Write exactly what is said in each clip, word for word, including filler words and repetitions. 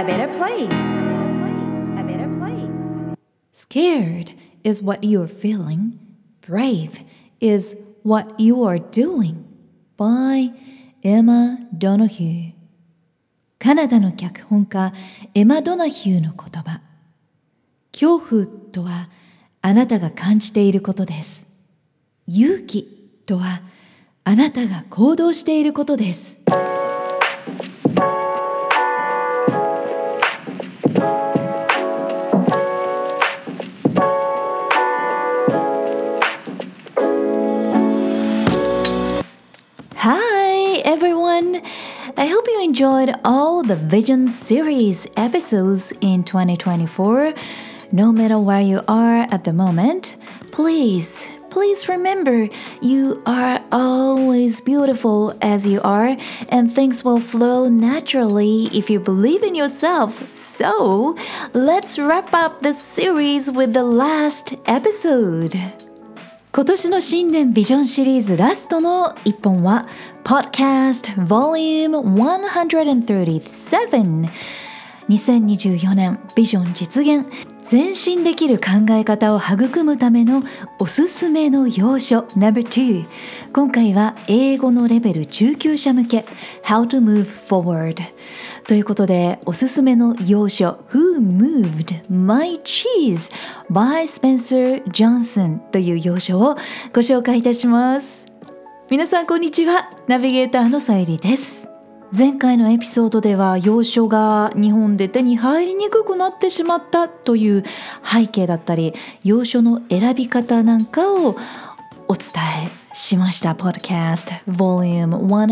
better place. A better place. Scared is what you're feeling. Brave is what you are doing. By Emma Donoghue。カナダの脚本家エマ・ドナヒューの言葉。恐怖とはあなたが感じていることです。勇気とはあなたが行動していることです。Hi everyone! I hope you enjoyed all the Vision series episodes in twenty twenty-four. No matter where you are at the moment, please, please remember you are always beautiful as you are, and things will flow naturally if you believe in yourself. So, let's wrap up the series with the last episode. 今年の新年ビジョンシリーズラストの一本は Podcast Volume one thirty-seven。 にせんにじゅうよねんビジョン実現、前進できる考え方を育むためのおすすめの要所 ナンバーツー。 今回は英語のレベル中級者向け How to move forward ということで、おすすめの要所 Who moved my cheese by Spencer Johnson という要所をご紹介いたします。皆さんこんにちは、ナビゲーターのさゆりです。前回のエピソードでは要所が日本で手に入りにくくなってしまったという背景だったり、要所の選び方なんかをお伝えしました。 Podcast Volume one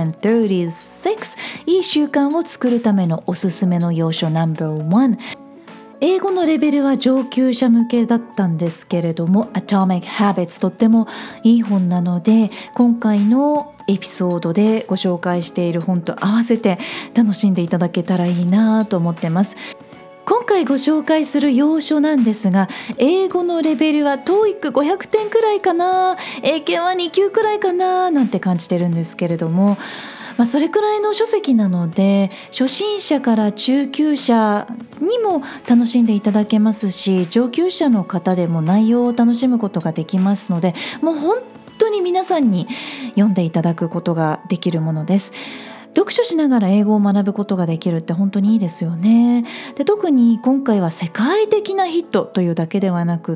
thirty-six、 いい習慣を作るためのおすすめの要所 ナンバーワン。英語のレベルは上級者向けだったんですけれども Atomic Habits とってもいい本なので、今回のエピソードでご紹介している本と合わせて楽しんでいただけたらいいなと思ってます。今回ご紹介する要所なんですが、英語のレベルは トーイックごひゃくてんくらいかな、英検はに級くらいかななんて感じてるんですけれども、まあ、それくらいの書籍なので初心者から中級者にも楽しんでいただけますし、上級者の方でも内容を楽しむことができますので、もう本当に皆さんに読んでいただくことができるものです。読書しながら英語を学ぶことができるって本当にいいですよね。で、特に今回は世界的なヒットというだけではなくって、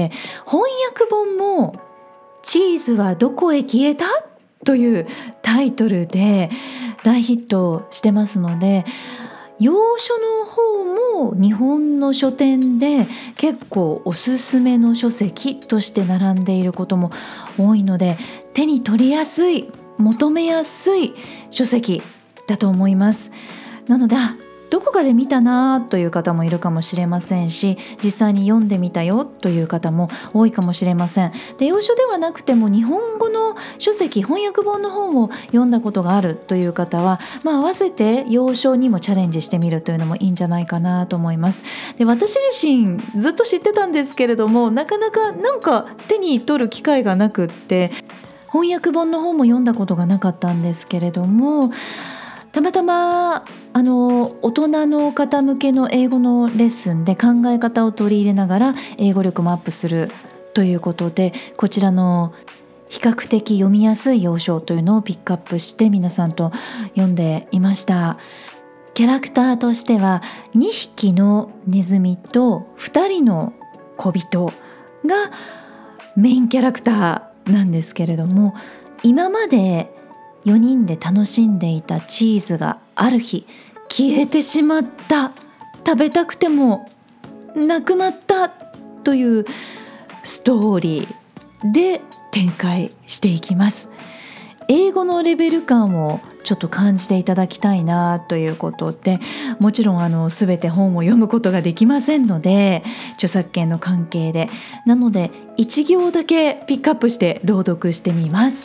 翻訳本もチーズはどこへ消えたというタイトルで大ヒットしてますので、要所の方も日本の書店で結構おすすめの書籍として並んでいることも多いので、手に取りやすい、求めやすい書籍だと思います。なので、あ、どこかで見たなという方もいるかもしれませんし、実際に読んでみたよという方も多いかもしれません。で、要所ではなくても日本語の書籍、翻訳本の本を読んだことがあるという方は、まあ、合わせて要所にもチャレンジしてみるというのもいいんじゃないかなと思います。で、私自身ずっと知ってたんですけれども、なかなかなんか手に取る機会がなくって、翻訳本の本も読んだことがなかったんですけれども、たまたまあの大人の方向けの英語のレッスンで考え方を取り入れながら英語力もアップするということで、こちらの比較的読みやすい要所というのをピックアップして皆さんと読んでいました。キャラクターとしてはにひきのネズミとふたりの小人がメインキャラクターなんですけれども、今までよにんで楽しんでいたチーズがある日消えてしまった、食べたくてもなくなったというストーリーで展開していきます。英語のレベル感をちょっと感じていただきたいなということで、もちろんあの全て本を読むことができませんので、著作権の関係で、なので一行だけピックアップして朗読してみます。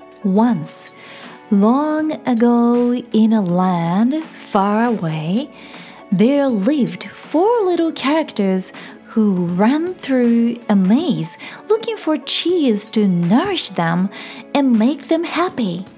Once, long ago in a land far away, there lived four little characters who ran through a maze looking for cheese to nourish them and make them happy.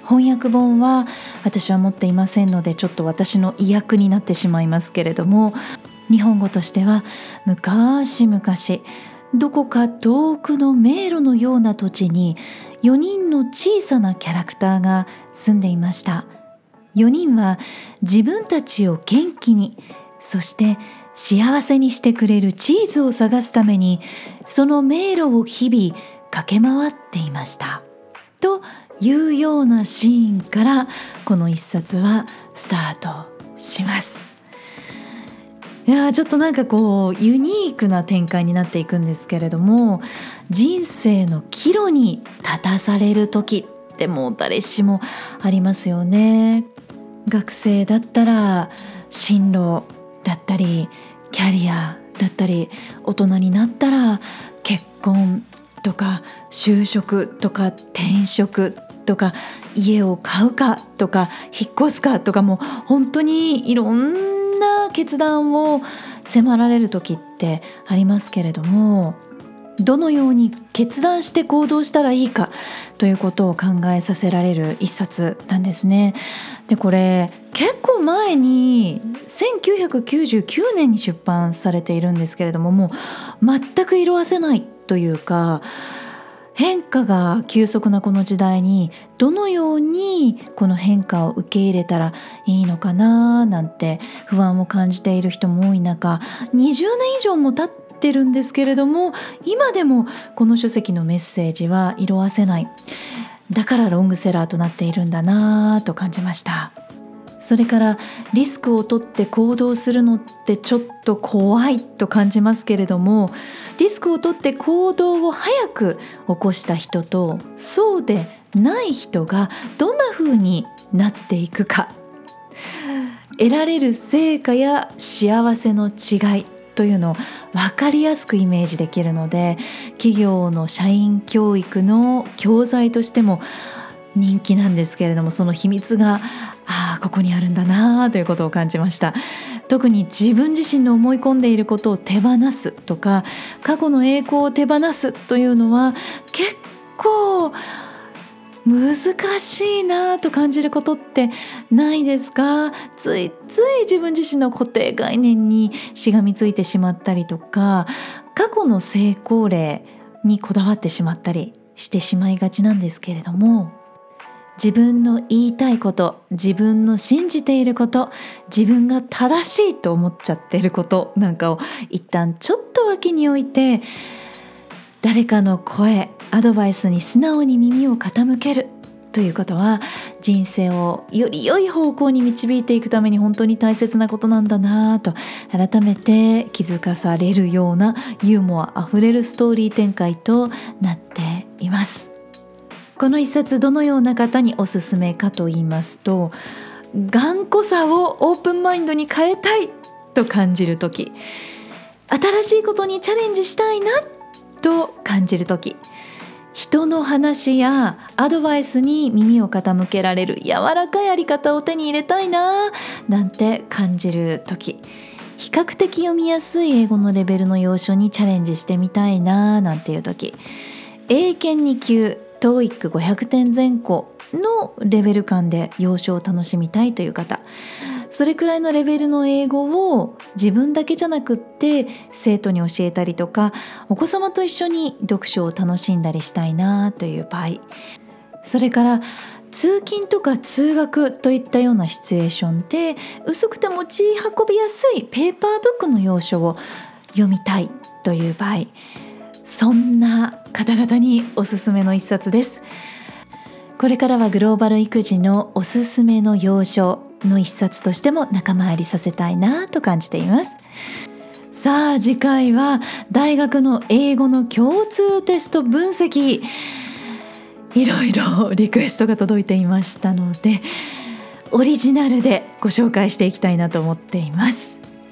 翻訳本は私は持っていませんので、ちょっと私の意訳になってしまいますけれども、日本語としては昔々どこか遠くの迷路のような土地によにんの小さなキャラクターが住んでいました。よにんは自分たちを元気に、そして幸せにしてくれるチーズを探すために、その迷路を日々駆け回っていましたというようなシーンから、この一冊はスタートします。いやちょっとなんかこうユニークな展開になっていくんですけれども、人生の岐路に立たされる時ってもう誰しもありますよね。学生だったら進路だったり、キャリアだったり、大人になったら結婚とか就職とか転職とか、家を買うかとか引っ越すかとか、もう本当にいろんな決断を迫られる時ってありますけれども、どのように決断して行動したらいいかということを考えさせられる一冊なんですね。でこれ結構前にせんきゅうひゃくきゅうじゅうきゅうねんに出版されているんですけれども、もう全く色褪せないというか、変化が急速なこの時代にどのようにこの変化を受け入れたらいいのかななんて不安を感じている人も多い中、にじゅうねん以上も経ってるんですけれども、今でもこの書籍のメッセージは色褪せない。だからロングセラーとなっているんだなと感じました。それからリスクを取って行動するのってちょっと怖いと感じますけれども、リスクを取って行動を早く起こした人とそうでない人がどんな風になっていくか、得られる成果や幸せの違いというのを分かりやすくイメージできるので、企業の社員教育の教材としても人気なんですけれども、その秘密がああここにあるんだなということを感じました。特に自分自身の思い込んでいることを手放すとか、過去の栄光を手放すというのは結構難しいなと感じることってないですか？ついつい自分自身の固定概念にしがみついてしまったりとか、過去の成功例にこだわってしまったりしてしまいがちなんですけれども、自分の言いたいこと、自分の信じていること、自分が正しいと思っちゃっていることなんかを一旦ちょっと脇に置いて、誰かの声、アドバイスに素直に耳を傾けるということは、人生をより良い方向に導いていくために本当に大切なことなんだなと改めて気づかされるようなユーモアあふれるストーリー展開となっています。この一冊どのような方におすすめかと言いますと、頑固さをオープンマインドに変えたいと感じるとき、新しいことにチャレンジしたいなと感じるとき、人の話やアドバイスに耳を傾けられる柔らかいあり方を手に入れたいななんて感じるとき、比較的読みやすい英語のレベルの要所にチャレンジしてみたいななんていうとき、英検に級トーイックごひゃくてん前後のレベル感で要所を楽しみたいという方、それくらいのレベルの英語を自分だけじゃなくって生徒に教えたりとか、お子様と一緒に読書を楽しんだりしたいなという場合、それから通勤とか通学といったようなシチュエーションで薄くて持ち運びやすいペーパーブックの要所を読みたいという場合、そんな方々におすすめの一冊です。これからはグローバル育児のおすすめの要所の一冊としても仲間入りさせたいなと感じています。さあ次回は大学の英語の共通テスト分析、いろいろリクエストが届いていましたので、オリジナルでご紹介していきたいなと思っています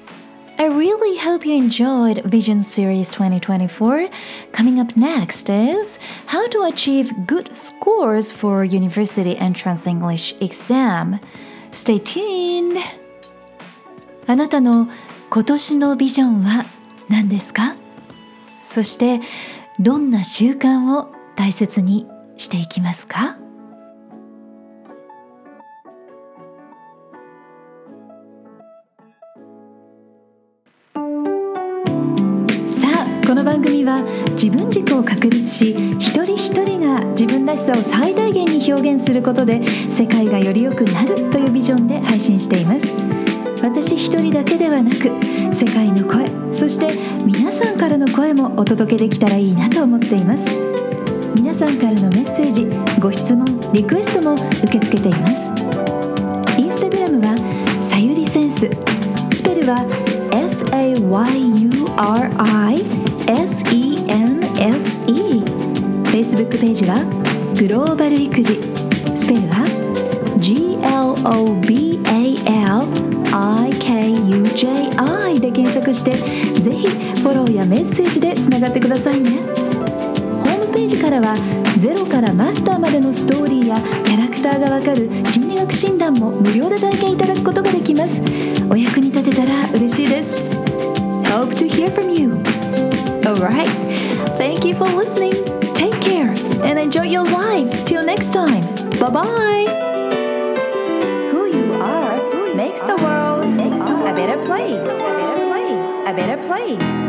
。I really hope you enjoyed Vision Series twenty twenty-four. Coming up next is how to achieve good scores for University Entrance English exam. Stay tuned! あなたの今年のビジョンは何ですか？そしてどんな習慣を大切にしていきますか？ は自分軸を確立し、一人一人が自分らしさを最大限に表現することで世界がより良くなるというビジョンで配信しています。私一人だけではなく、世界の声、そして皆さんからの声もお届けできたらいいなと思っています。皆さんからのメッセージ、ご質問、リクエストも受け付けています。インスタグラムはさゆりセンス、スペルは エス エー ワイ ユー アール アイ エス イー エヌ エス イー。 Facebook ページはグローバル育児、スペルは ジー エル オー ビー エー エル アイ ケー ユー ジェー アイ で検索して、ぜひフォローやメッセージでつながってくださいね。ホームページからはゼロからマスターまでのストーリーやキャラクターがわかる心理学診断も無料で体験いただくことができます。お役に立てたら嬉しいです。 Hope to hear from you. Alright, thank you for listening. Take care and enjoy your life. Till next time. Bye bye. Who you are makes the world a better place. A better place. A better place.